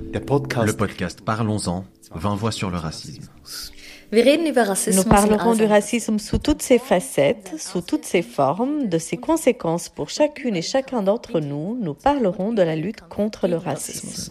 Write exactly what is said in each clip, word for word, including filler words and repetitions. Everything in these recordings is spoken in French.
Le podcast Parlons-en, vingt voix sur le racisme. Nous parlerons du racisme sous toutes ses facettes, sous toutes ses formes, de ses conséquences pour chacune et chacun d'entre nous. Nous parlerons de la lutte contre le racisme.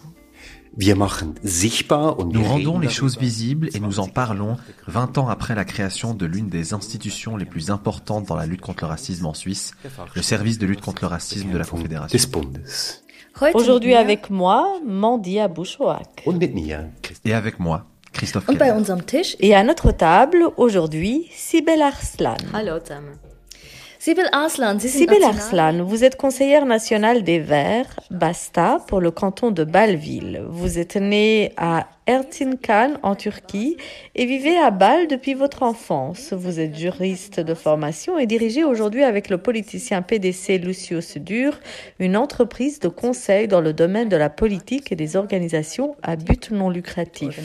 Nous rendons les choses visibles et nous en parlons vingt ans après la création de l'une des institutions les plus importantes dans la lutte contre le racisme en Suisse, le service de lutte contre le racisme de la Confédération. Aujourd'hui avec moi, Mandy Abouchouak. Et avec moi, Christophe Keller. Et à notre table, aujourd'hui, Sibel Arslan. Hallo zusammen. Sibel Arslan, Sibel Arslan, vous êtes conseillère nationale des Verts, Basta, pour le canton de Bâle-Ville. Vous êtes née à Erzincan, en Turquie, et vivez à Bâle depuis votre enfance. Vous êtes juriste de formation et dirigez aujourd'hui avec le politicien P D C Lucio Sudur une entreprise de conseil dans le domaine de la politique et des organisations à but non lucratif.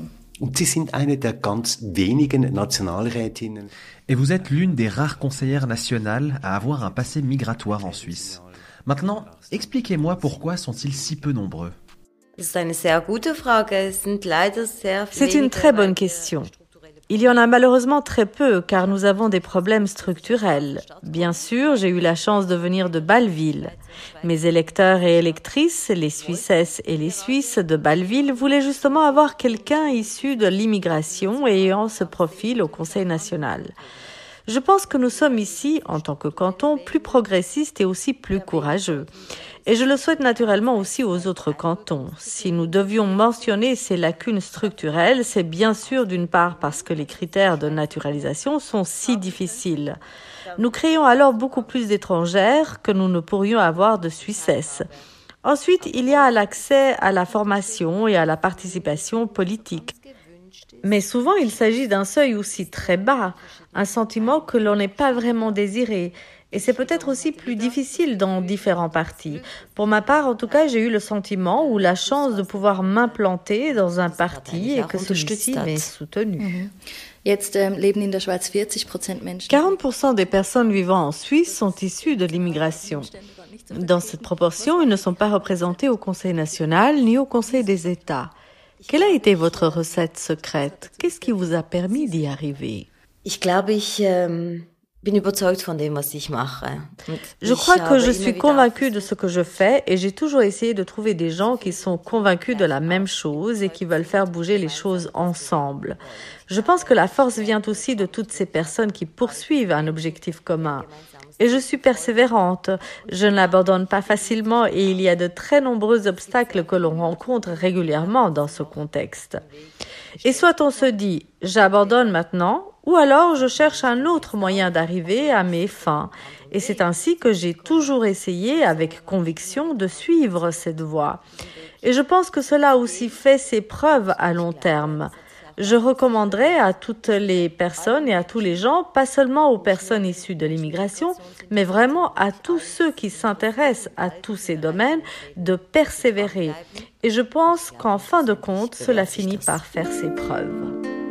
Et vous êtes l'une des rares conseillères nationales à avoir un passé migratoire en Suisse. Maintenant, expliquez-moi pourquoi sont-ils si peu nombreux? C'est une très bonne question. Il y en a malheureusement très peu car nous avons des problèmes structurels. Bien sûr, j'ai eu la chance de venir de Bâle-Ville. Mes électeurs et électrices, les Suissesses et les Suisses de Bâle-Ville, voulaient justement avoir quelqu'un issu de l'immigration et ayant ce profil au Conseil national. Je pense que nous sommes ici, en tant que canton, plus progressistes et aussi plus courageux. Et je le souhaite naturellement aussi aux autres cantons. Si nous devions mentionner ces lacunes structurelles, c'est bien sûr d'une part parce que les critères de naturalisation sont si difficiles. Nous créons alors beaucoup plus d'étrangères que nous ne pourrions avoir de Suissesses. Ensuite, il y a l'accès à la formation et à la participation politique. Mais souvent, il s'agit d'un seuil aussi très bas, un sentiment que l'on n'est pas vraiment désiré. Et c'est peut-être aussi plus difficile dans différents partis. Pour ma part, en tout cas, j'ai eu le sentiment ou la chance de pouvoir m'implanter dans un parti et que celui-ci m'ait soutenu. quarante pour cent des personnes vivant en Suisse sont issues de l'immigration. Dans cette proportion, ils ne sont pas représentés au Conseil national ni au Conseil des États. Quelle a été votre recette secrète? Qu'est-ce qui vous a permis d'y arriver? Ich glaube, ich ähm, bin überzeugt von dem, was ich mache. Je crois que je suis convaincue de ce que je fais et j'ai toujours essayé de trouver des gens qui sont convaincus de la même chose et qui veulent faire bouger les choses ensemble. Je pense que la force vient aussi de toutes ces personnes qui poursuivent un objectif commun. Et je suis persévérante, je ne l'abandonne pas facilement et il y a de très nombreux obstacles que l'on rencontre régulièrement dans ce contexte. Et soit on se dit « j'abandonne maintenant » ou alors je cherche un autre moyen d'arriver à mes fins. Et c'est ainsi que j'ai toujours essayé avec conviction de suivre cette voie. Et je pense que cela aussi fait ses preuves à long terme. Je recommanderais à toutes les personnes et à tous les gens, pas seulement aux personnes issues de l'immigration, mais vraiment à tous ceux qui s'intéressent à tous ces domaines, de persévérer. Et je pense qu'en fin de compte, cela finit par faire ses preuves.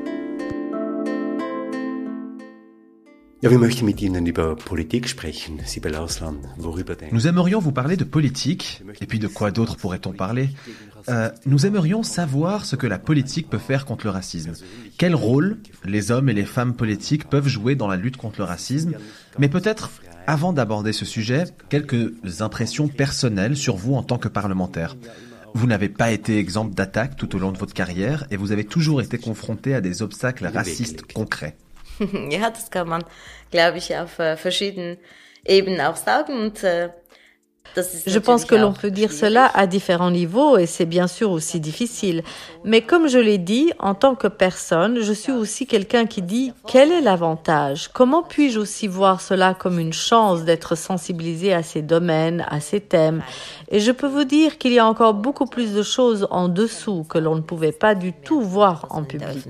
Nous aimerions vous parler de politique, et puis de quoi d'autre pourrait-on parler? Euh, nous aimerions savoir ce que la politique peut faire contre le racisme. Quel rôle les hommes et les femmes politiques peuvent jouer dans la lutte contre le racisme? Mais peut-être, avant d'aborder ce sujet, quelques impressions personnelles sur vous en tant que parlementaire. Vous n'avez pas été exempt d'attaques tout au long de votre carrière et vous avez toujours été confronté à des obstacles racistes concrets. Ja, das kann man, glaube ich, auf äh, verschiedenen Ebenen auch sagen. Und, äh, das ist Je pense que l'on peut dire cela à différents niveaux et c'est bien sûr aussi difficile. Mais comme je l'ai dit, en tant que personne, je suis aussi quelqu'un qui dit quel est l'avantage? Comment puis-je aussi voir cela comme une chance d'être sensibilisé à ces domaines, à ces thèmes? Et je peux vous dire qu'il y a encore beaucoup plus de choses en dessous que l'on ne pouvait pas du tout voir en public.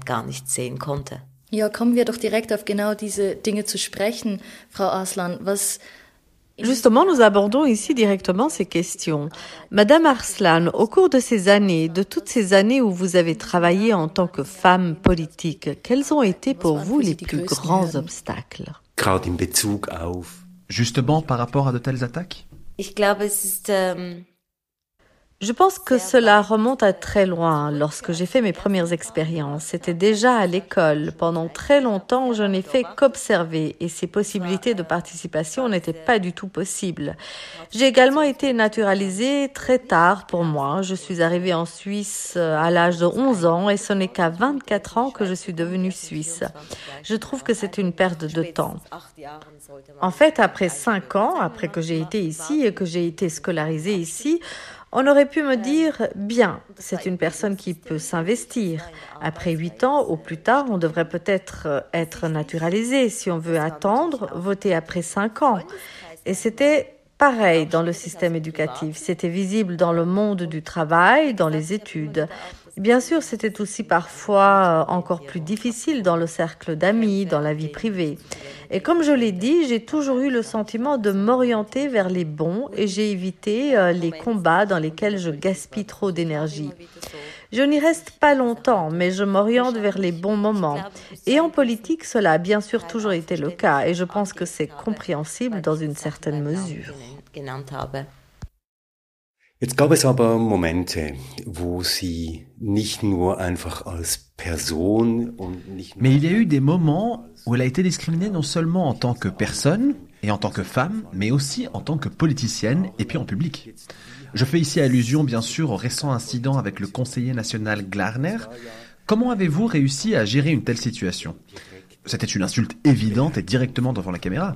Ja, kommen wir doch direkt auf genau diese Dinge zu sprechen, Frau Arslan. Was Justement, nous abordons ici directement ces questions. Madame Arslan, au cours de ces années, de toutes ces années où vous avez travaillé en tant que femme politique, quels ont été pour vous les plus grands obstacles? Justement par rapport à de telles attaques? Ich glaube, es ist, ähm Je pense que cela remonte à très loin. Lorsque j'ai fait mes premières expériences, c'était déjà à l'école. Pendant très longtemps, je n'ai fait qu'observer et ces possibilités de participation n'étaient pas du tout possibles. J'ai également été naturalisée très tard pour moi. Je suis arrivée en Suisse à l'âge de onze ans et ce n'est qu'à vingt-quatre ans que je suis devenue suisse. Je trouve que c'est une perte de temps. En fait, après cinq ans, après que j'ai été ici et que j'ai été scolarisée ici, on aurait pu me dire, bien, c'est une personne qui peut s'investir. Après huit ans, au plus tard, on devrait peut-être être naturalisé. Si on veut attendre, voter après cinq ans. Et c'était pareil dans le système éducatif. C'était visible dans le monde du travail, dans les études. Bien sûr, c'était aussi parfois encore plus difficile dans le cercle d'amis, dans la vie privée. Et comme je l'ai dit, j'ai toujours eu le sentiment de m'orienter vers les bons et j'ai évité euh, les combats dans lesquels je gaspille trop d'énergie. Je n'y reste pas longtemps, mais je m'oriente vers les bons moments. Et en politique, cela a bien sûr toujours été le cas et je pense que c'est compréhensible dans une certaine mesure. Jetzt gab es aber Momente, wo Sie nicht nur einfach als Person und nicht Mais il y a eu des moments où elle a été discriminée non seulement en tant que personne et en tant que femme, mais aussi en tant que politicienne et puis en public. Je fais ici allusion bien sûr au récent incident avec le conseiller national Glarner. Comment avez-vous réussi à gérer une telle situation? C'était une insulte évidente et directement devant la caméra.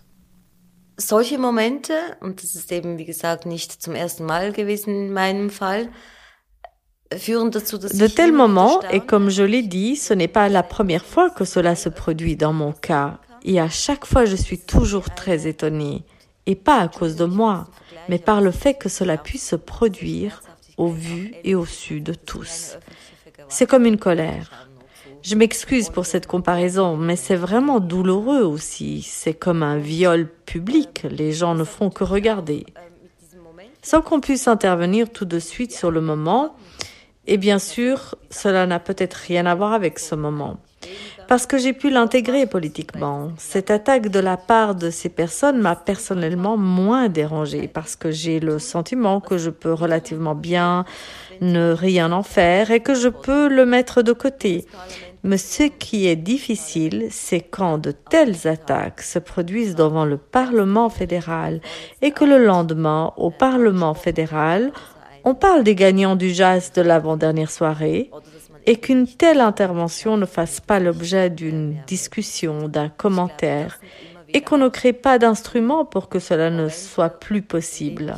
Solche Momente, und das ist eben, wie gesagt, nicht zum ersten Mal gewesen in meinem Fall, führen dazu, dass De tels moments, et comme je l'ai dit, ce n'est pas la première fois que cela se produit dans mon cas. Et à chaque fois, je suis toujours très étonnée. Et pas à cause de moi, mais par le fait que cela puisse se produire au vu et au su de tous. C'est comme une colère. Je m'excuse pour cette comparaison, mais c'est vraiment douloureux aussi. C'est comme un viol public, les gens ne font que regarder. Sans qu'on puisse intervenir tout de suite sur le moment, et bien sûr, cela n'a peut-être rien à voir avec ce moment. Parce que j'ai pu l'intégrer politiquement. Cette attaque de la part de ces personnes m'a personnellement moins dérangée, parce que j'ai le sentiment que je peux relativement bien ne rien en faire et que je peux le mettre de côté. Mais ce qui est difficile, c'est quand de telles attaques se produisent devant le Parlement fédéral et que le lendemain, au Parlement fédéral, on parle des gagnants du jazz de l'avant-dernière soirée et qu'une telle intervention ne fasse pas l'objet d'une discussion, d'un commentaire et qu'on ne crée pas d'instrument pour que cela ne soit plus possible.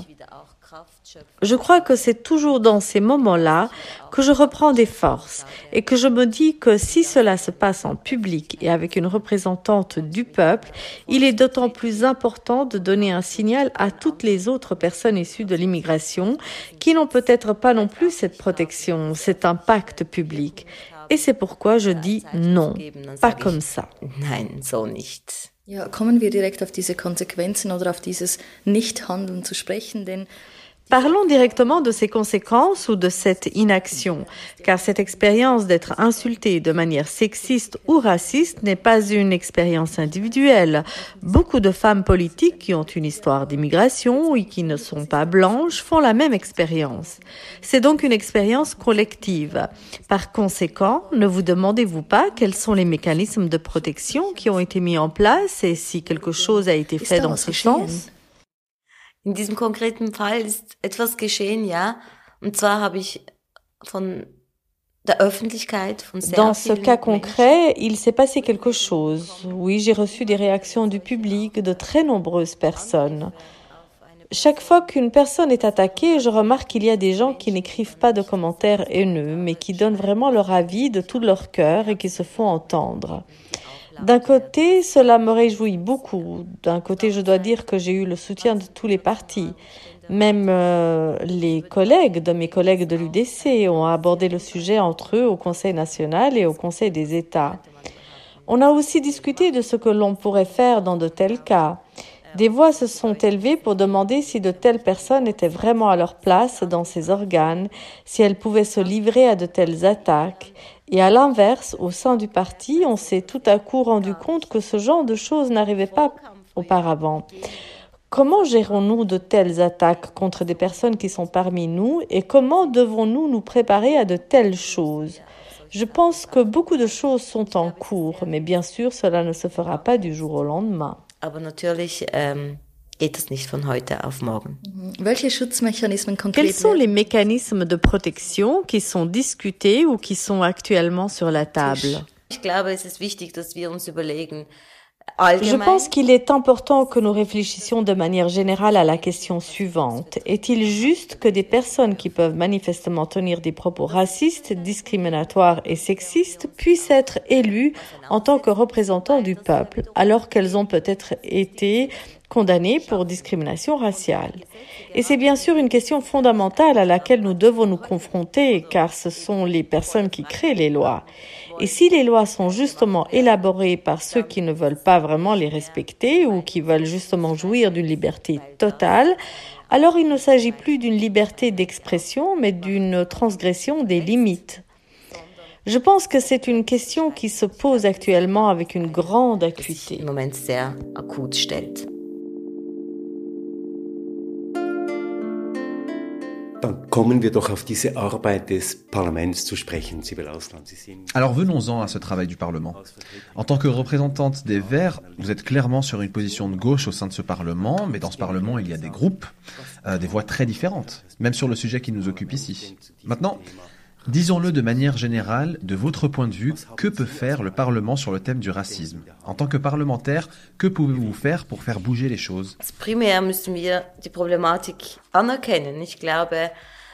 Je crois que c'est toujours dans ces moments-là que je reprends des forces et que je me dis que si cela se passe en public et avec une représentante du peuple, il est d'autant plus important de donner un signal à toutes les autres personnes issues de l'immigration qui n'ont peut-être pas non plus cette protection, cet impact public. Et c'est pourquoi je dis non, pas comme ça. Nein, so nicht. Ja, kommen wir direkt auf diese Konsequenzen oder auf dieses Nichthandeln zu sprechen, denn Parlons directement de ces conséquences ou de cette inaction, car cette expérience d'être insultée de manière sexiste ou raciste n'est pas une expérience individuelle. Beaucoup de femmes politiques qui ont une histoire d'immigration et qui ne sont pas blanches font la même expérience. C'est donc une expérience collective. Par conséquent, ne vous demandez-vous pas quels sont les mécanismes de protection qui ont été mis en place et si quelque chose a été fait dans ce sens? In diesem konkreten Fall ist etwas geschehen, ja. Und zwar habe ich von der Öffentlichkeit, von sehr Dans ce cas concret, il s'est passé quelque chose. Oui, j'ai reçu des réactions du public, de très nombreuses personnes. Chaque fois qu'une personne est attaquée, je remarque qu'il y a des gens qui n'écrivent pas de commentaires haineux, mais qui donnent vraiment leur avis de tout leur cœur et qui se font entendre. D'un côté, cela me réjouit beaucoup. D'un côté, je dois dire que j'ai eu le soutien de tous les partis. Même euh, les collègues de mes collègues de l'U D C ont abordé le sujet entre eux au Conseil national et au Conseil des États. On a aussi discuté de ce que l'on pourrait faire dans de tels cas. Des voix se sont élevées pour demander si de telles personnes étaient vraiment à leur place dans ces organes, si elles pouvaient se livrer à de telles attaques. Et à l'inverse, au sein du parti, on s'est tout à coup rendu compte que ce genre de choses n'arrivait pas auparavant. Comment gérons-nous de telles attaques contre des personnes qui sont parmi nous et comment devons-nous nous préparer à de telles choses ? Je pense que beaucoup de choses sont en cours, mais bien sûr, cela ne se fera pas du jour au lendemain. Aber natürlich ähm, geht es nicht von heute auf morgen. Welche Schutzmechanismen konkret? Quels sont les mécanismes de protection qui sont discutés ou qui sont actuellement sur la table ? Ich glaube, es ist wichtig, dass wir uns überlegen. Je pense qu'il est important que nous réfléchissions de manière générale à la question suivante. Est-il juste que des personnes qui peuvent manifestement tenir des propos racistes, discriminatoires et sexistes puissent être élues en tant que représentants du peuple, alors qu'elles ont peut-être été condamnées pour discrimination raciale? Et c'est bien sûr une question fondamentale à laquelle nous devons nous confronter, car ce sont les personnes qui créent les lois. Et si les lois sont justement élaborées par ceux qui ne veulent pas vraiment les respecter ou qui veulent justement jouir d'une liberté totale, alors il ne s'agit plus d'une liberté d'expression, mais d'une transgression des limites. Je pense que c'est une question qui se pose actuellement avec une grande acuité. Im Moment sehr akut stellt. Dann kommen wir doch auf diese Arbeit des Parlaments zu sprechen, Sibel Arslan. Sie sind... Alors venons-en à ce travail du Parlement. En tant que représentante des Verts, vous êtes clairement sur une position de gauche au sein de ce Parlement, mais dans ce Parlement, il y a des groupes, euh, des voix très différentes, même sur le sujet qui nous occupe ici. Maintenant, disons-le de manière générale, de votre point de vue, que peut faire le Parlement sur le thème du racisme? En tant que parlementaire, que pouvez-vous faire pour faire bouger les choses? Primär müssen wir die Problematik anerkennen. Ich glaube,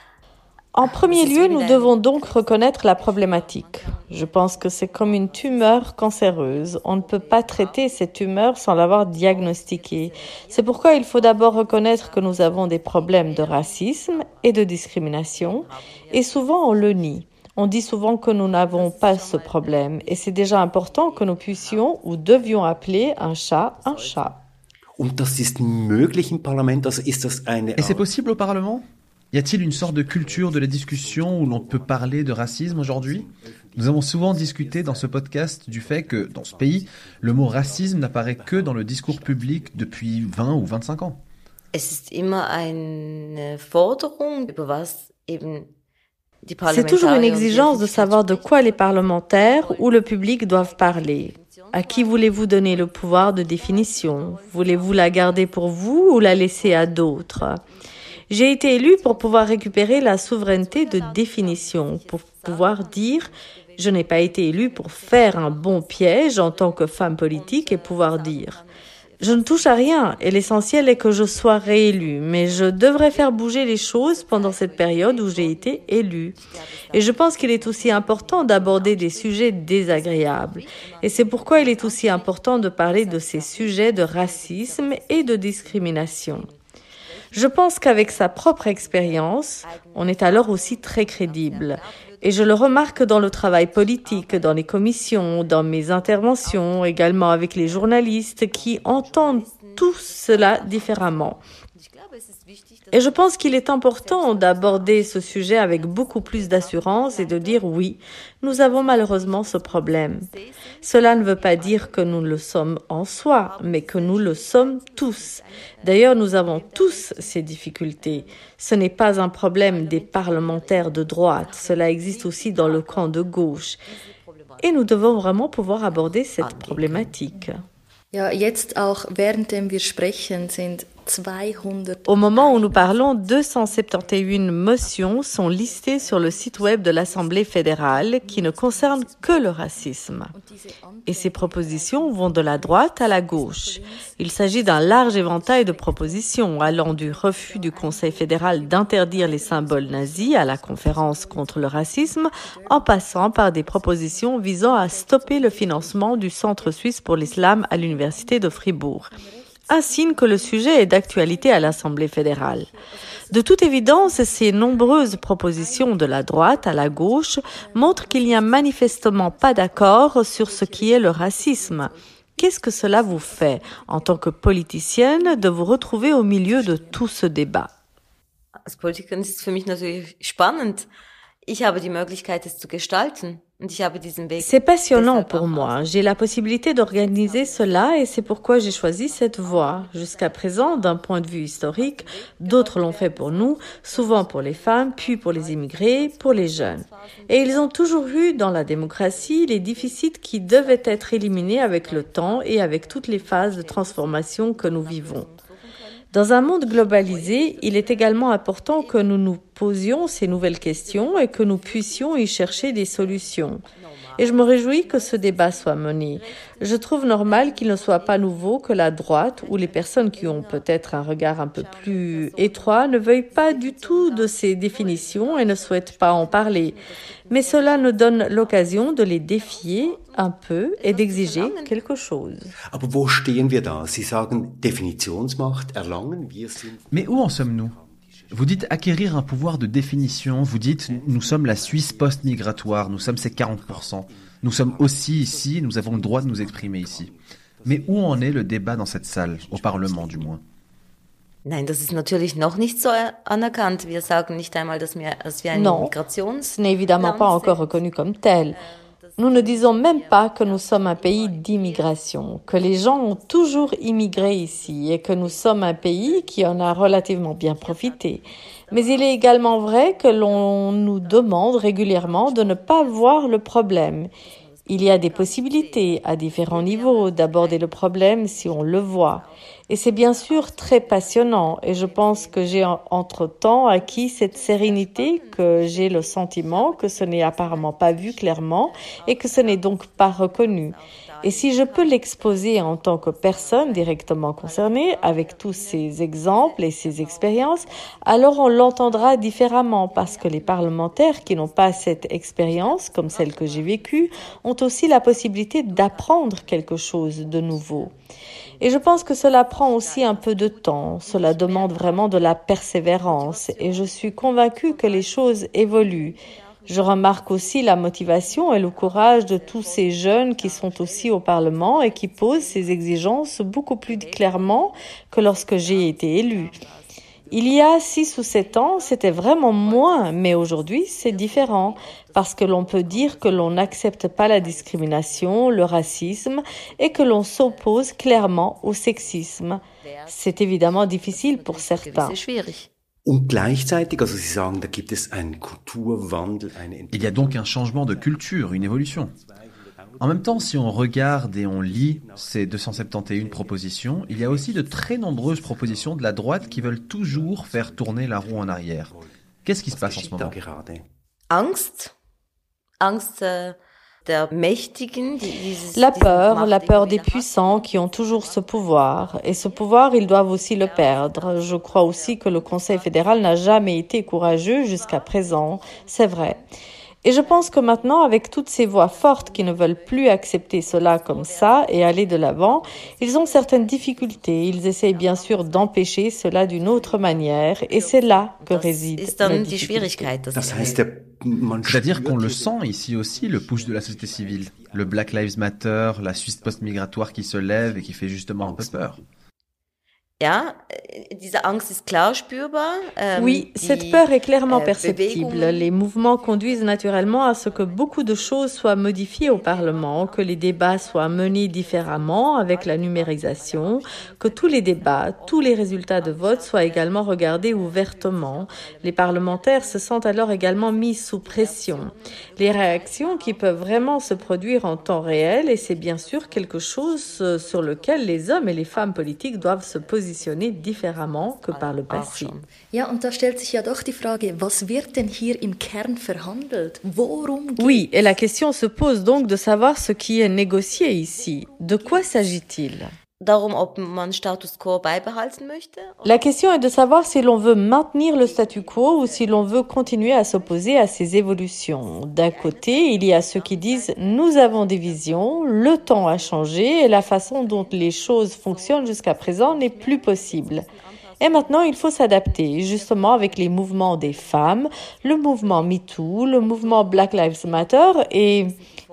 En premier lieu, nous devons donc reconnaître la problématique. Je pense que c'est comme une tumeur cancéreuse. On ne peut pas traiter cette tumeur sans l'avoir diagnostiquée. C'est pourquoi il faut d'abord reconnaître que nous avons des problèmes de racisme et de discrimination. Et souvent, on le nie. On dit souvent que nous n'avons pas ce problème. Et c'est déjà important que nous puissions ou devions appeler un chat un chat. Und das ist möglich im Parlament? Also ist das eine... Et c'est possible au Parlement? Y a-t-il une sorte de culture de la discussion où l'on peut parler de racisme aujourd'hui? Nous avons souvent discuté dans ce podcast du fait que, dans ce pays, le mot racisme n'apparaît que dans le discours public depuis vingt ou vingt-cinq ans. Es ist immer eine Forderung, über was eben die C'est toujours une exigence de savoir de quoi les parlementaires ou le public doivent parler. À qui voulez-vous donner le pouvoir de définition? Voulez-vous la garder pour vous ou la laisser à d'autres? J'ai été élue pour pouvoir récupérer la souveraineté de définition, pour pouvoir dire « je n'ai pas été élue pour faire un bon piège en tant que femme politique » et pouvoir dire « je ne touche à rien et l'essentiel est que je sois réélue, mais je devrais faire bouger les choses pendant cette période où j'ai été élue. » Et je pense qu'il est aussi important d'aborder des sujets désagréables. Et c'est pourquoi il est aussi important de parler de ces sujets de racisme et de discrimination. Je pense qu'avec sa propre expérience, on est alors aussi très crédible. Et je le remarque dans le travail politique, dans les commissions, dans mes interventions, également avec les journalistes qui entendent tout cela différemment. Et je pense qu'il est important d'aborder ce sujet avec beaucoup plus d'assurance et de dire oui, nous avons malheureusement ce problème. Cela ne veut pas dire que nous le sommes en soi, mais que nous le sommes tous. D'ailleurs, nous avons tous ces difficultés. Ce n'est pas un problème des parlementaires de droite, cela existe aussi dans le camp de gauche. Et nous devons vraiment pouvoir aborder cette problématique. Ja, jetzt auch währenddem wir sprechen sind Au moment où nous parlons, deux cent soixante et onze motions sont listées sur le site web de l'Assemblée fédérale qui ne concernent que le racisme. Et ces propositions vont de la droite à la gauche. Il s'agit d'un large éventail de propositions allant du refus du Conseil fédéral d'interdire les symboles nazis à la conférence contre le racisme, en passant par des propositions visant à stopper le financement du Centre suisse pour l'islam à l'Université de Fribourg. Un signe que le sujet est d'actualité à l'Assemblée fédérale. De toute évidence, ces nombreuses propositions de la droite à la gauche montrent qu'il n'y a manifestement pas d'accord sur ce qui est le racisme. Qu'est-ce que cela vous fait, en tant que politicienne, de vous retrouver au milieu de tout ce débat? Als Politikerin ist es für mich natürlich spannend. Ich habe die Möglichkeit, es zu gestalten. Und ich habe diesen Weg. C'est passionnant pour moi. J'ai la possibilité d'organiser cela et c'est pourquoi j'ai choisi cette voie. Jusqu'à présent, d'un point de vue historique, d'autres l'ont fait pour nous, souvent pour les femmes, puis pour les immigrés, pour les jeunes. Et ils ont toujours eu dans la démocratie les déficits qui devaient être éliminés avec le temps et avec toutes les phases de transformation que nous vivons. Dans un monde globalisé, il est également important que nous nous posions ces nouvelles questions et que nous puissions y chercher des solutions. Et je me réjouis que ce débat soit mené. Je trouve normal qu'il ne soit pas nouveau que la droite ou les personnes qui ont peut-être un regard un peu plus étroit ne veuillent pas du tout de ces définitions et ne souhaitent pas en parler. Mais cela nous donne l'occasion de les défier un peu et d'exiger quelque chose. Aber wo stehen wir da? Sie sagen Definitionsmacht erlangen, wir sind... Mais où en sommes-nous ? Vous dites acquérir un pouvoir de définition, vous dites nous sommes la Suisse post-migratoire, nous sommes ces quarante pour cent. Nous sommes aussi ici, nous avons le droit de nous exprimer ici. Mais où en est le débat dans cette salle, au Parlement du moins ? Nein, das ist natürlich noch nicht so anerkannt. Wir sagen nicht einmal, dass wir, dass wir ein Migrations... ce n'est évidemment pas encore reconnu comme tel. Nous ne disons même pas que nous sommes un pays d'immigration, que les gens ont toujours immigré ici et que nous sommes un pays qui en a relativement bien profité. Mais il est également vrai que l'on nous demande régulièrement de ne pas voir le problème. Il y a des possibilités à différents niveaux d'aborder le problème si on le voit. Et c'est bien sûr très passionnant et je pense que j'ai entre-temps acquis cette sérénité que j'ai le sentiment que ce n'est apparemment pas vu clairement et que ce n'est donc pas reconnu. Et si je peux l'exposer en tant que personne directement concernée avec tous ces exemples et ces expériences, alors on l'entendra différemment parce que les parlementaires qui n'ont pas cette expérience, comme celle que j'ai vécue, ont aussi la possibilité d'apprendre quelque chose de nouveau. Et je pense que cela prend aussi un peu de temps, cela demande vraiment de la persévérance et je suis convaincue que les choses évoluent. Je remarque aussi la motivation et le courage de tous ces jeunes qui sont aussi au Parlement et qui posent ces exigences beaucoup plus clairement que lorsque j'ai été élue. Il y a six ou sept ans, c'était vraiment moins, mais aujourd'hui, c'est différent parce que l'on peut dire que l'on n'accepte pas la discrimination, le racisme et que l'on s'oppose clairement au sexisme. C'est évidemment difficile pour certains. Und gleichzeitig, also Sie sagen, da gibt es einen Kulturwandel, eine... Il y a donc un changement de culture, une évolution. En même temps, si on regarde et on lit ces deux cent soixante et onze propositions, il y a aussi de très nombreuses propositions de la droite qui veulent toujours faire tourner la roue en arrière. Qu'est-ce qui se passe en ce moment ? Angst. Angst äh, der Mächtigen. Dieses, la peur, la peur des puissants qui ont toujours ce pouvoir. Et ce pouvoir, ils doivent aussi le perdre. Je crois aussi que le Conseil fédéral n'a jamais été courageux jusqu'à présent. C'est vrai. Et je pense que maintenant, avec toutes ces voix fortes qui ne veulent plus accepter cela comme ça et aller de l'avant, ils ont certaines difficultés. Ils essayent bien sûr d'empêcher cela d'une autre manière et c'est là que réside la difficulté. C'est-à-dire qu'on le sent ici aussi, le push de la société civile. Le Black Lives Matter, la Suisse post-migratoire qui se lève et qui fait justement un peu peur. Ja, diese Angst ist klar spürbar. Ähm, oui, cette peur est clairement perceptible. Les mouvements conduisent naturellement à ce que beaucoup de choses soient modifiées au Parlement, que les débats soient menés différemment avec la numérisation, que tous les débats, tous les résultats de vote soient également regardés ouvertement. Les parlementaires se sentent alors également mis sous pression. Les réactions qui peuvent vraiment se produire en temps réel, et c'est bien sûr quelque chose sur lequel les hommes et les femmes politiques doivent se positionner différemment que par le passé. Ja, und da stellt sich ja doch die Frage, was wird denn hier im Kern verhandelt? Worum geht's? Oui, et la question se pose donc de savoir ce qui est négocié ici. De quoi s'agit-il? Darum, ob man Status quo beibehalten möchte? La question est de savoir si l'on veut maintenir le statu quo ou si l'on veut continuer à s'opposer à ces évolutions. D'un côté, il y a ceux qui disent « nous avons des visions, le temps a changé et la façon dont les choses fonctionnent jusqu'à présent n'est plus possible ». Et maintenant, il faut s'adapter, justement avec les mouvements des femmes, le mouvement MeToo, le mouvement Black Lives Matter et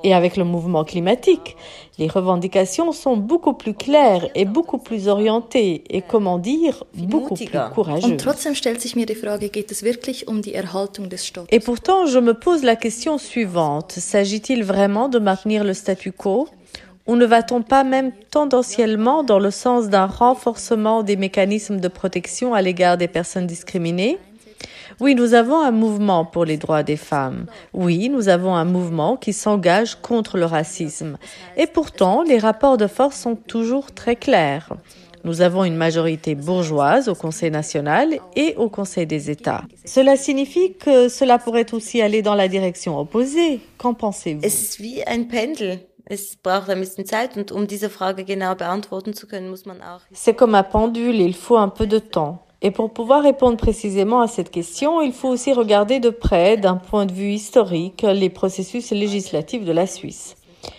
Et avec le mouvement climatique, les revendications sont beaucoup plus claires et beaucoup plus orientées et, comment dire, beaucoup plus courageuses. Und trotzdem stellt sich mir die Frage, geht es wirklich um die Erhaltung des Status? Et pourtant, je me pose la question suivante. S'agit-il vraiment de maintenir le statu quo? Ou ne va-t-on pas même tendanciellement dans le sens d'un renforcement des mécanismes de protection à l'égard des personnes discriminées? Oui, nous avons un mouvement pour les droits des femmes. Oui, nous avons un mouvement qui s'engage contre le racisme. Et pourtant, les rapports de force sont toujours très clairs. Nous avons une majorité bourgeoise au Conseil national et au Conseil des États. Cela signifie que cela pourrait aussi aller dans la direction opposée. Qu'en pensez-vous? Es ist wie ein Pendel. Es braucht ein bisschen Zeit und um diese Frage genau beantworten zu können, muss man auch... C'est comme un pendule et il faut un peu de temps. Et pour pouvoir répondre précisément à cette question, il faut aussi regarder de près, d'un point de vue historique, les processus législatifs de la Suisse.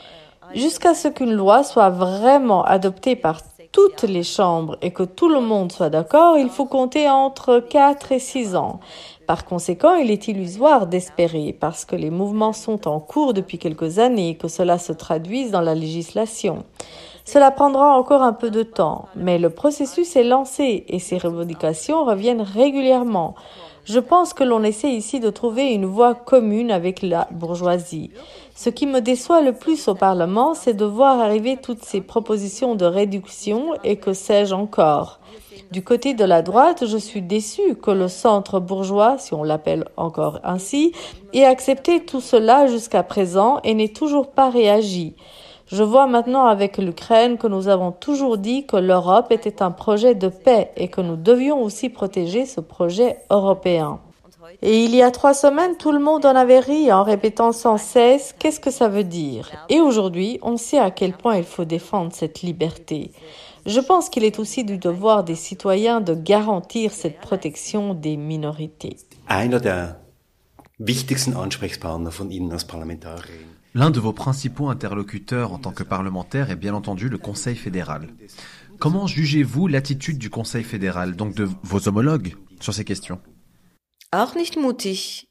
Jusqu'à ce qu'une loi soit vraiment adoptée par toutes les chambres et que tout le monde soit d'accord, il faut compter entre quatre et six ans. Par conséquent, il est illusoire d'espérer, parce que les mouvements sont en cours depuis quelques années, que cela se traduise dans la législation. Cela prendra encore un peu de temps, mais le processus est lancé et ces revendications reviennent régulièrement. Je pense que l'on essaie ici de trouver une voie commune avec la bourgeoisie. Ce qui me déçoit le plus au Parlement, c'est de voir arriver toutes ces propositions de réduction et que sais-je encore. Du côté de la droite, je suis déçue que le centre bourgeois, si on l'appelle encore ainsi, ait accepté tout cela jusqu'à présent et n'ait toujours pas réagi. Je vois maintenant avec l'Ukraine que nous avons toujours dit que l'Europe était un projet de paix et que nous devions aussi protéger ce projet européen. Et il y a trois semaines, tout le monde en avait ri en répétant sans cesse « qu'est-ce que ça veut dire ?» Et aujourd'hui, on sait à quel point il faut défendre cette liberté. Je pense qu'il est aussi du devoir des citoyens de garantir cette protection des minorités. Einer der wichtigsten Ansprechpartner von Ihnen als Parlamentarierin. L'un de vos principaux interlocuteurs en tant que parlementaire est bien entendu le Conseil fédéral. Comment jugez-vous l'attitude du Conseil fédéral, donc de vos homologues, sur ces questions? Auch nicht mutig.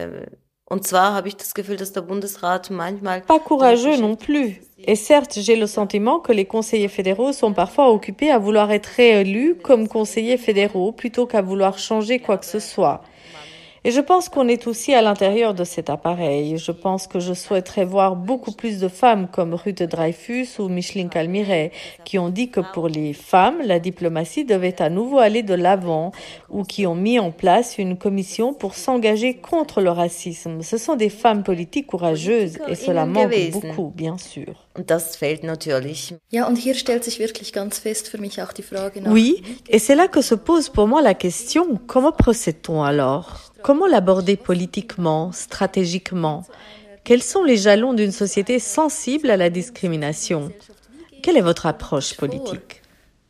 Und zwar habe ich das Gefühl, dass der Bundesrat manchmal... Pas courageux non plus. Et certes, j'ai le sentiment que les conseillers fédéraux sont parfois occupés à vouloir être réélus comme conseillers fédéraux plutôt qu'à vouloir changer quoi que ce soit. Et je pense qu'on est aussi à l'intérieur de cet appareil. Je pense que je souhaiterais voir beaucoup plus de femmes comme Ruth Dreyfus ou Micheline Calmiret qui ont dit que pour les femmes, la diplomatie devait à nouveau aller de l'avant ou qui ont mis en place une commission pour s'engager contre le racisme. Ce sont des femmes politiques courageuses et cela manque beaucoup, bien sûr. Und das fehlt natürlich. Ja, und hier stellt sich wirklich ganz fest für mich auch die Frage nach... Oui, et c'est là que se pose pour moi la question, comment procède-t-on alors ? Comment l'aborder politiquement, stratégiquement? Quels sont les jalons d'une société sensible à la discrimination? Quelle est votre approche politique?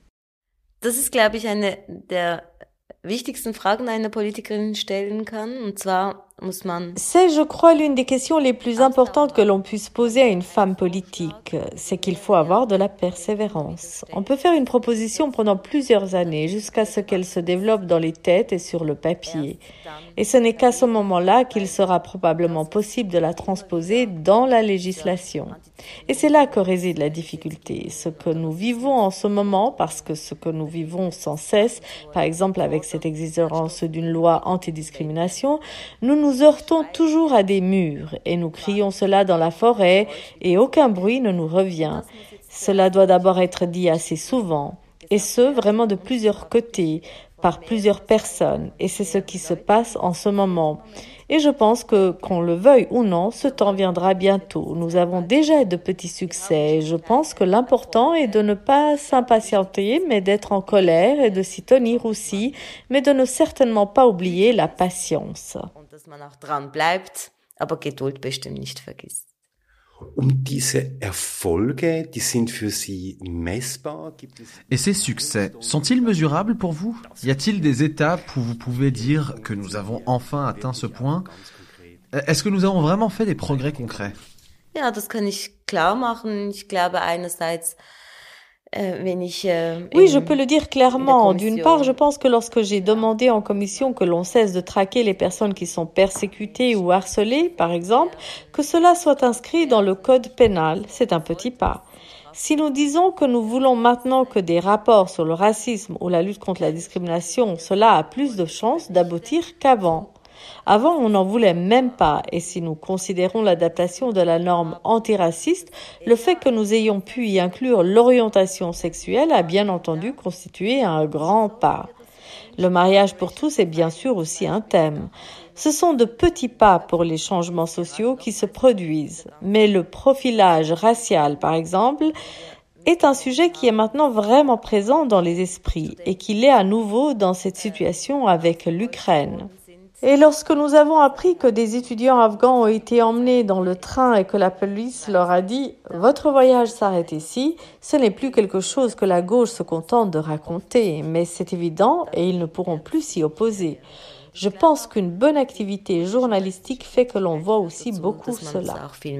Das ist, glaube ich, eine der wichtigsten Fragen, die eine Politikerin stellen kann. Und zwar muss man... C'est, je crois, l'une des questions les plus importantes que l'on puisse poser à une femme politique. C'est qu'il faut avoir de la persévérance. On peut faire une proposition pendant plusieurs années jusqu'à ce qu'elle se développe dans les têtes et sur le papier. Et ce n'est qu'à ce moment-là qu'il sera probablement possible de la transposer dans la législation. Et c'est là que réside la difficulté. Ce que nous vivons en ce moment, parce que ce que nous vivons sans cesse, par exemple avec cette exigence d'une loi antidiscrimination, nous nous heurtons toujours à des murs et nous crions cela dans la forêt et aucun bruit ne nous revient. Cela doit d'abord être dit assez souvent, et ce, vraiment de plusieurs côtés, par plusieurs personnes, et c'est ce qui se passe en ce moment. Et je pense que, qu'on le veuille ou non, ce temps viendra bientôt. Nous avons déjà de petits succès. Je pense que l'important est de ne pas s'impatienter, mais d'être en colère et de s'y tenir aussi, mais de ne certainement pas oublier la patience. Und dass man auch dran bleibt, aber Geduld bestimmt nicht vergisst. Und diese Erfolge, die sind für Sie messbar? Gibt es... Et ces succès, sont-ils mesurables pour vous? Y a-t-il des étapes où vous pouvez dire que nous avons enfin atteint ce point? Est-ce que nous avons vraiment fait des progrès concrets? Ja, das kann ich klar machen. Ich glaube einerseits, Oui, je peux le dire clairement. D'une part, je pense que lorsque j'ai demandé en commission que l'on cesse de traquer les personnes qui sont persécutées ou harcelées, par exemple, que cela soit inscrit dans le code pénal, c'est un petit pas. Si nous disons que nous voulons maintenant que des rapports sur le racisme ou la lutte contre la discrimination, cela a plus de chances d'aboutir qu'avant. Avant, on n'en voulait même pas, et si nous considérons l'adaptation de la norme antiraciste, le fait que nous ayons pu y inclure l'orientation sexuelle a bien entendu constitué un grand pas. Le mariage pour tous est bien sûr aussi un thème. Ce sont de petits pas pour les changements sociaux qui se produisent, mais le profilage racial, par exemple, est un sujet qui est maintenant vraiment présent dans les esprits et qui l'est à nouveau dans cette situation avec l'Ukraine. Et lorsque nous avons appris que des étudiants afghans ont été emmenés dans le train et que la police leur a dit « Votre voyage s'arrête ici », ce n'est plus quelque chose que la gauche se contente de raconter, mais c'est évident et ils ne pourront plus s'y opposer. Je pense qu'une bonne activité journalistique fait que l'on voit aussi beaucoup cela.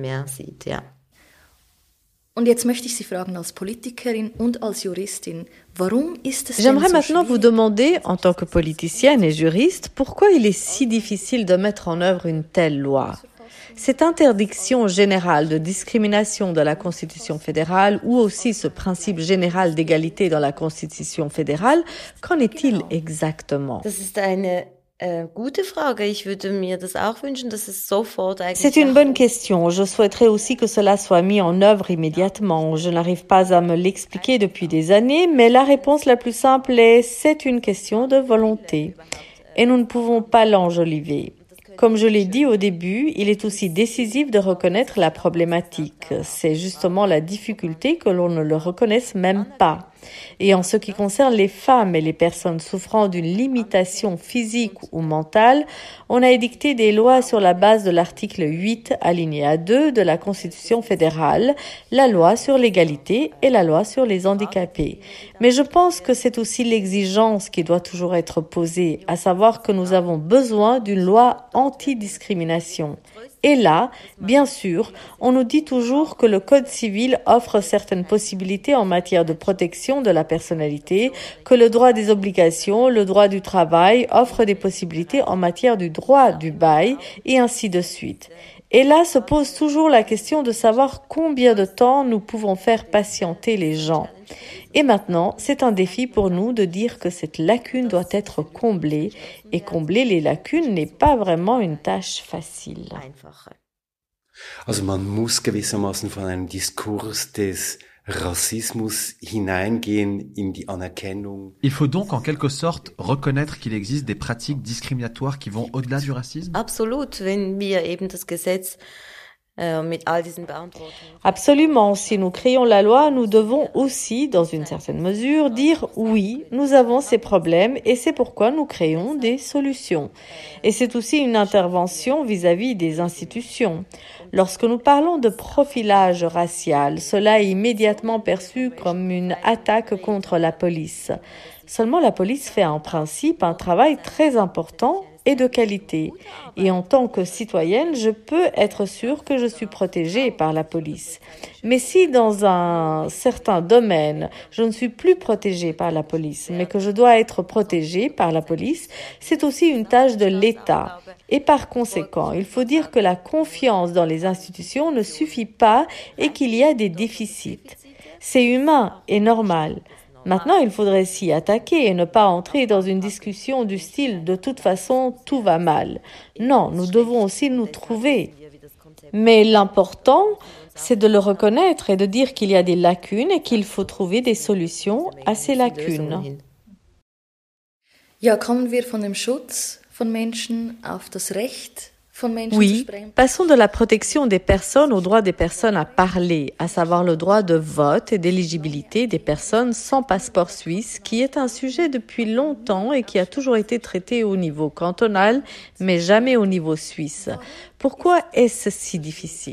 J'aimerais maintenant vous demander, en tant que politicienne et juriste, pourquoi il est si difficile de mettre en œuvre une telle loi. Cette interdiction générale de discrimination de la Constitution fédérale ou aussi ce principe général d'égalité dans la Constitution fédérale, qu'en est-il exactement ? C'est une bonne question. Je souhaiterais aussi que cela soit mis en œuvre immédiatement. Je n'arrive pas à me l'expliquer depuis des années, mais la réponse la plus simple est c'est une question de volonté. Et nous ne pouvons pas l'enjoliver. Comme je l'ai dit au début, il est aussi décisif de reconnaître la problématique. C'est justement la difficulté que l'on ne le reconnaisse même pas. Et en ce qui concerne les femmes et les personnes souffrant d'une limitation physique ou mentale, on a édicté des lois sur la base de l'article huit, alinéa deux de la Constitution fédérale, la loi sur l'égalité et la loi sur les handicapés. Mais je pense que c'est aussi l'exigence qui doit toujours être posée, à savoir que nous avons besoin d'une loi anti-discrimination. Et là, bien sûr, on nous dit toujours que le Code civil offre certaines possibilités en matière de protection de la personnalité, que le droit des obligations, le droit du travail offre des possibilités en matière du droit du bail et ainsi de suite. Et là se pose toujours la question de savoir combien de temps nous pouvons faire patienter les gens. Et maintenant, c'est un défi pour nous de dire que cette lacune doit être comblée, et combler les lacunes n'est pas vraiment une tâche facile. Also man muss gewissermaßen von einem Diskurs des Rassismus hineingehen in die Anerkennung. Il faut donc en quelque sorte reconnaître qu'il existe des pratiques discriminatoires qui vont au-delà du racisme. Absolut, wenn wir eben das Gesetz Absolument. Si nous créons la loi, nous devons aussi, dans une certaine mesure, dire oui, nous avons ces problèmes et c'est pourquoi nous créons des solutions. Et c'est aussi une intervention vis-à-vis des institutions. Lorsque nous parlons de profilage racial, cela est immédiatement perçu comme une attaque contre la police. Seulement, la police fait en principe un travail très important et de qualité. Et en tant que citoyenne, je peux être sûre que je suis protégée par la police. Mais si dans un certain domaine, je ne suis plus protégée par la police, mais que je dois être protégée par la police, c'est aussi une tâche de l'État. Et par conséquent, il faut dire que la confiance dans les institutions ne suffit pas et qu'il y a des déficits. C'est humain et normal. Maintenant, il faudrait s'y attaquer et ne pas entrer dans une discussion du style « de toute façon, tout va mal ». Non, nous devons aussi nous trouver. Mais l'important, c'est de le reconnaître et de dire qu'il y a des lacunes et qu'il faut trouver des solutions à ces lacunes. Ja, kommen wir von dem Schutz von Menschen auf das Recht. Oui, passons de la protection des personnes au droit des personnes à parler, à savoir le droit de vote et d'éligibilité des personnes sans passeport suisse, qui est un sujet depuis longtemps et qui a toujours été traité au niveau cantonal, mais jamais au niveau suisse. Pourquoi est-ce si difficile ?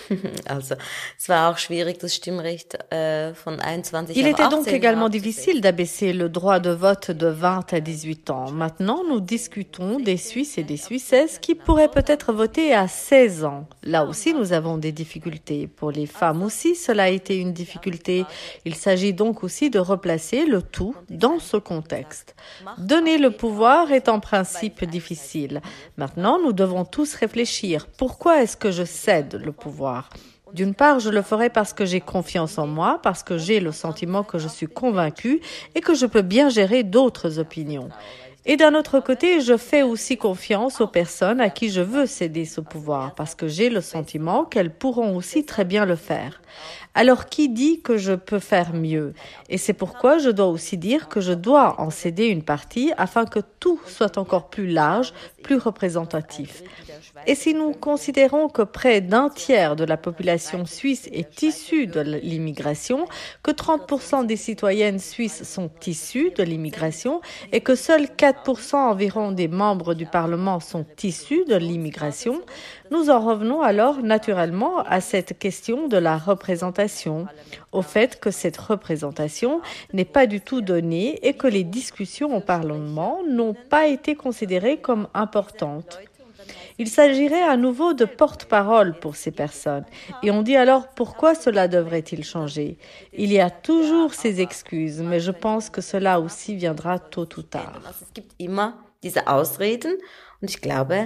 Il était donc également difficile d'abaisser le droit de vote de vingt à dix-huit ans. Maintenant, nous discutons des Suisses et des Suissesses qui pourraient peut-être voter à seize ans. Là aussi, nous avons des difficultés. Pour les femmes aussi, cela a été une difficulté. Il s'agit donc aussi de replacer le tout dans ce contexte. Donner le pouvoir est en principe difficile. Maintenant, nous devons tous réfléchir. Pourquoi est-ce que je cède le pouvoir ? D'une part, je le ferai parce que j'ai confiance en moi, parce que j'ai le sentiment que je suis convaincue et que je peux bien gérer d'autres opinions. Et d'un autre côté, je fais aussi confiance aux personnes à qui je veux céder ce pouvoir, parce que j'ai le sentiment qu'elles pourront aussi très bien le faire. Alors, qui dit que je peux faire mieux ? Et c'est pourquoi je dois aussi dire que je dois en céder une partie afin que tout soit encore plus large, plus représentatif. Et si nous considérons que près d'un tiers de la population suisse est issue de l'immigration, que trente pour cent des citoyennes suisses sont issues de l'immigration et que seuls quatre pour cent environ des membres du Parlement sont issus de l'immigration, nous en revenons alors naturellement à cette question de la représentation, au fait que cette représentation n'est pas du tout donnée et que les discussions au Parlement n'ont pas été considérées comme importantes. Il s'agirait à nouveau de porte-parole pour ces personnes. Et on dit alors pourquoi cela devrait-il changer ? Il y a toujours ces excuses, mais je pense que cela aussi viendra tôt ou tard. Es gibt immer diese Ausreden und ich glaube,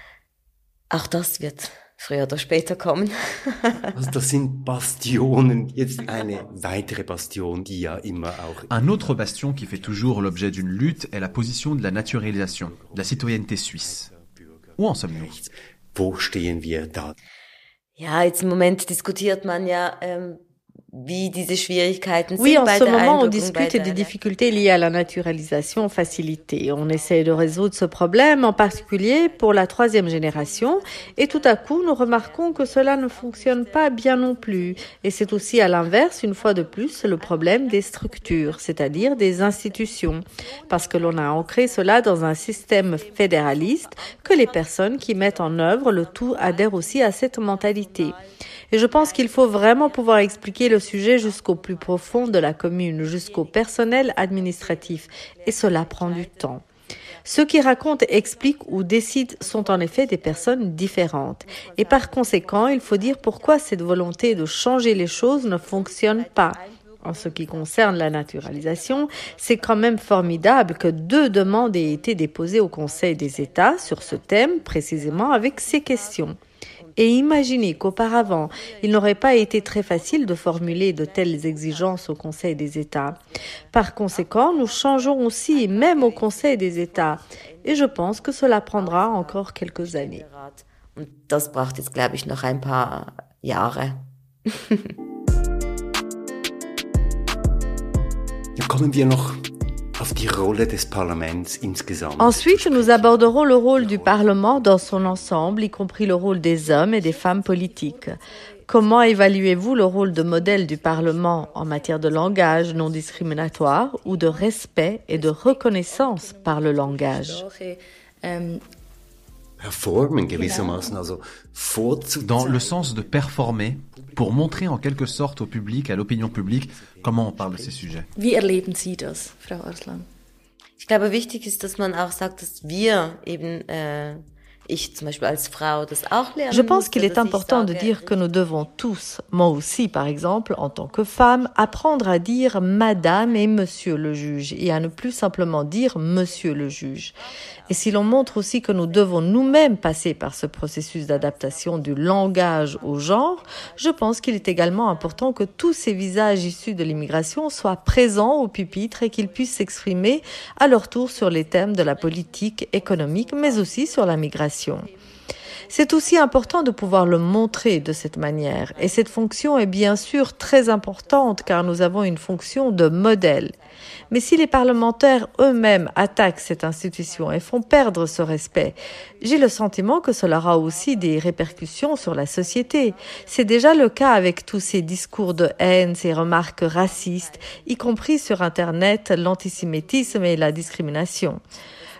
auch das wird früher oder später kommen. Also das sind Bastionen, jetzt eine weitere Bastion, die ja immer auch... Un autre bastion qui fait toujours l'objet d'une lutte est la position de la naturalisation, de la citoyenneté suisse. Où en sommes-nous ? Wo stehen wir da? Ja, jetzt im Moment diskutiert man ja, ähm, wie diese Schwierigkeiten Oui, sind en bei ce der moment, on Einbürgerung, bei discute der- des difficultés liées à la naturalisation facilitée. On essaie de résoudre ce problème, en particulier pour la troisième génération. Et tout à coup, nous remarquons que cela ne fonctionne pas bien non plus. Et c'est aussi à l'inverse, une fois de plus, le problème des structures, c'est-à-dire des institutions. Parce que l'on a ancré cela dans un système fédéraliste, que les personnes qui mettent en œuvre le tout adhèrent aussi à cette mentalité. Et je pense qu'il faut vraiment pouvoir expliquer le sujet jusqu'au plus profond de la commune, jusqu'au personnel administratif. Et cela prend du temps. Ceux qui racontent, expliquent ou décident sont en effet des personnes différentes. Et par conséquent, il faut dire pourquoi cette volonté de changer les choses ne fonctionne pas. En ce qui concerne la naturalisation, c'est quand même formidable que deux demandes aient été déposées au Conseil des États sur ce thème, précisément avec ces questions. Et imaginez qu'auparavant, il n'aurait pas été très facile de formuler de telles exigences au Conseil des États. Par conséquent, nous changeons aussi, même au Conseil des États. Et je pense que cela prendra encore quelques années. Und das braucht jetzt, glaube ich, noch ein paar Jahre. Ja, kommen wir noch auf die Rolle des Parlaments insgesamt. Ensuite, nous aborderons le rôle du Parlement dans son ensemble, y compris le rôle des hommes et des femmes politiques. Comment évaluez-vous le rôle de modèle du Parlement en matière de langage non discriminatoire ou de respect et de reconnaissance par le langage ? Ähm, Performen gewissermaßen, also vorzuzeigen. Dans le sens de performer, pour montrer en quelque sorte au public, à l'opinion publique, comment on parle de ces sujets. Wie erleben Sie das, Frau Arslan? Ich glaube, wichtig ist, dass man auch sagt, dass wir eben, äh, ich zum Beispiel als Frau, das auch lernen Je pense musste, qu'il est dass ich important de sage, dire que nous devons tous, moi aussi par exemple, en tant que femme, apprendre à dire madame et monsieur le juge et à ne plus simplement dire monsieur le juge. Et si l'on montre aussi que nous devons nous-mêmes passer par ce processus d'adaptation du langage au genre, je pense qu'il est également important que tous ces visages issus de l'immigration soient présents au pupitre et qu'ils puissent s'exprimer à leur tour sur les thèmes de la politique économique, mais aussi sur la migration. C'est aussi important de pouvoir le montrer de cette manière. Et cette fonction est bien sûr très importante car nous avons une fonction de modèle. Mais si les parlementaires eux-mêmes attaquent cette institution et font perdre ce respect, j'ai le sentiment que cela aura aussi des répercussions sur la société. C'est déjà le cas avec tous ces discours de haine, ces remarques racistes, y compris sur Internet, l'antisémitisme et la discrimination.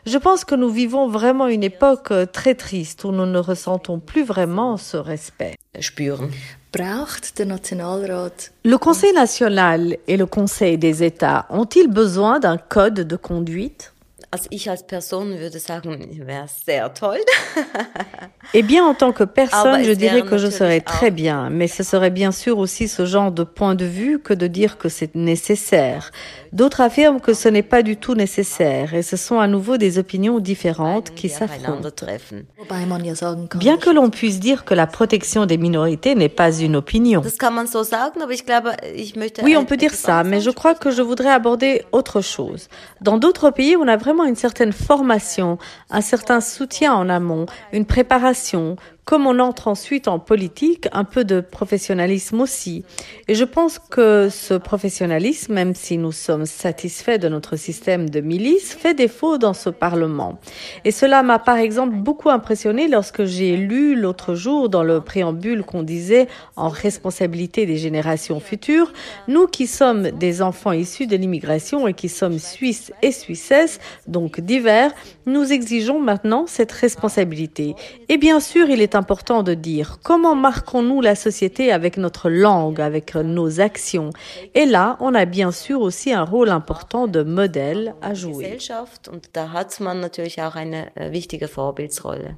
Je pense que nous vivons vraiment une époque très triste où nous ne ressentons plus vraiment ce respect. Spüren. Braucht der Nationalrat Le Conseil national et le Conseil des États ont-ils besoin d'un code de conduite? Also ich als Person würde sagen, wäre sehr toll. Eh bien, en tant que personne, je dirais que je serais très bien, mais ce serait bien sûr aussi ce genre de point de vue que de dire que c'est nécessaire. D'autres affirment que ce n'est pas du tout nécessaire et ce sont à nouveau des opinions différentes qui s'affrontent. Wobei man ja sagen kann, Bien que l'on puisse dire que la protection des minorités n'est pas une opinion. Das kann man so sagen, aber ich glaube, ich möchte Oui, on peut dire ça, mais je crois que je voudrais aborder autre chose. Dans d'autres pays, on a vraiment une certaine formation, un certain soutien en amont, une préparation. Comme on entre ensuite en politique, un peu de professionnalisme aussi. Et je pense que ce professionnalisme, même si nous sommes satisfaits de notre système de milice, fait défaut dans ce Parlement. Et cela m'a par exemple beaucoup impressionné lorsque j'ai lu l'autre jour dans le préambule qu'on disait en responsabilité des générations futures, nous qui sommes des enfants issus de l'immigration et qui sommes Suisses et Suissesses, donc divers, nous exigeons maintenant cette responsabilité. Et bien sûr, il est important de dire comment marquons-nous la société avec notre langue, avec nos actions. Et là, on a bien sûr aussi un rôle important de modèle à jouer. Gesellschaft und da hat man natürlich auch eine wichtige Vorbildsrolle.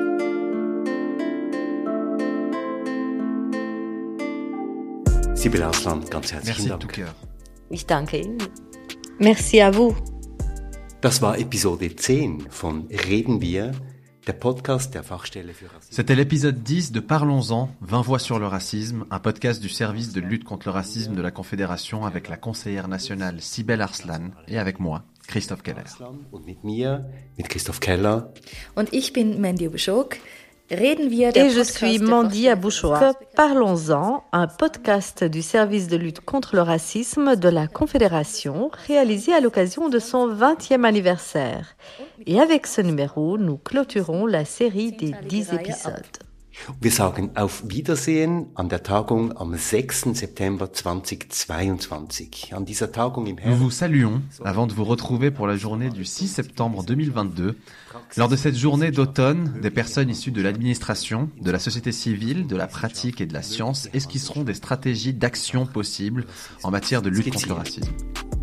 Sibylle Arslan, ganz herzlichen Merci de Dank. tout cœur. Ich danke Ihnen. Merci à vous. Das war Episode zehn von Reden wir, der Podcast der Fachstelle für Rassismus. C'était l'épisode dix de Parlons-en, vingt voix sur le racisme, un podcast du service de lutte contre le racisme de la Confédération avec la conseillère nationale Sibylle Arslan et avec moi, Christoph Keller. Und mit mir, mit Christoph Keller. und ich bin Mandy Ubschok. Reden wir Et je suis Mandy Abouchoa. Parlons-en, un podcast du service de lutte contre le racisme de la Confédération, réalisé à l'occasion de son vingtième anniversaire. Et avec ce numéro, nous clôturons la série des dix épisodes. Wir sagen auf Wiedersehen an der Tagung am sechsten September zweitausendzweiundzwanzig. An dieser Tagung im Nous Herbst. vous saluons avant de vous retrouver pour la journée du six septembre deux mille vingt-deux. Lors de cette journée d'automne, des personnes issues de l'administration, de la société civile, de la pratique et de la science esquisseront des stratégies d'action possibles en matière de lutte contre le racisme.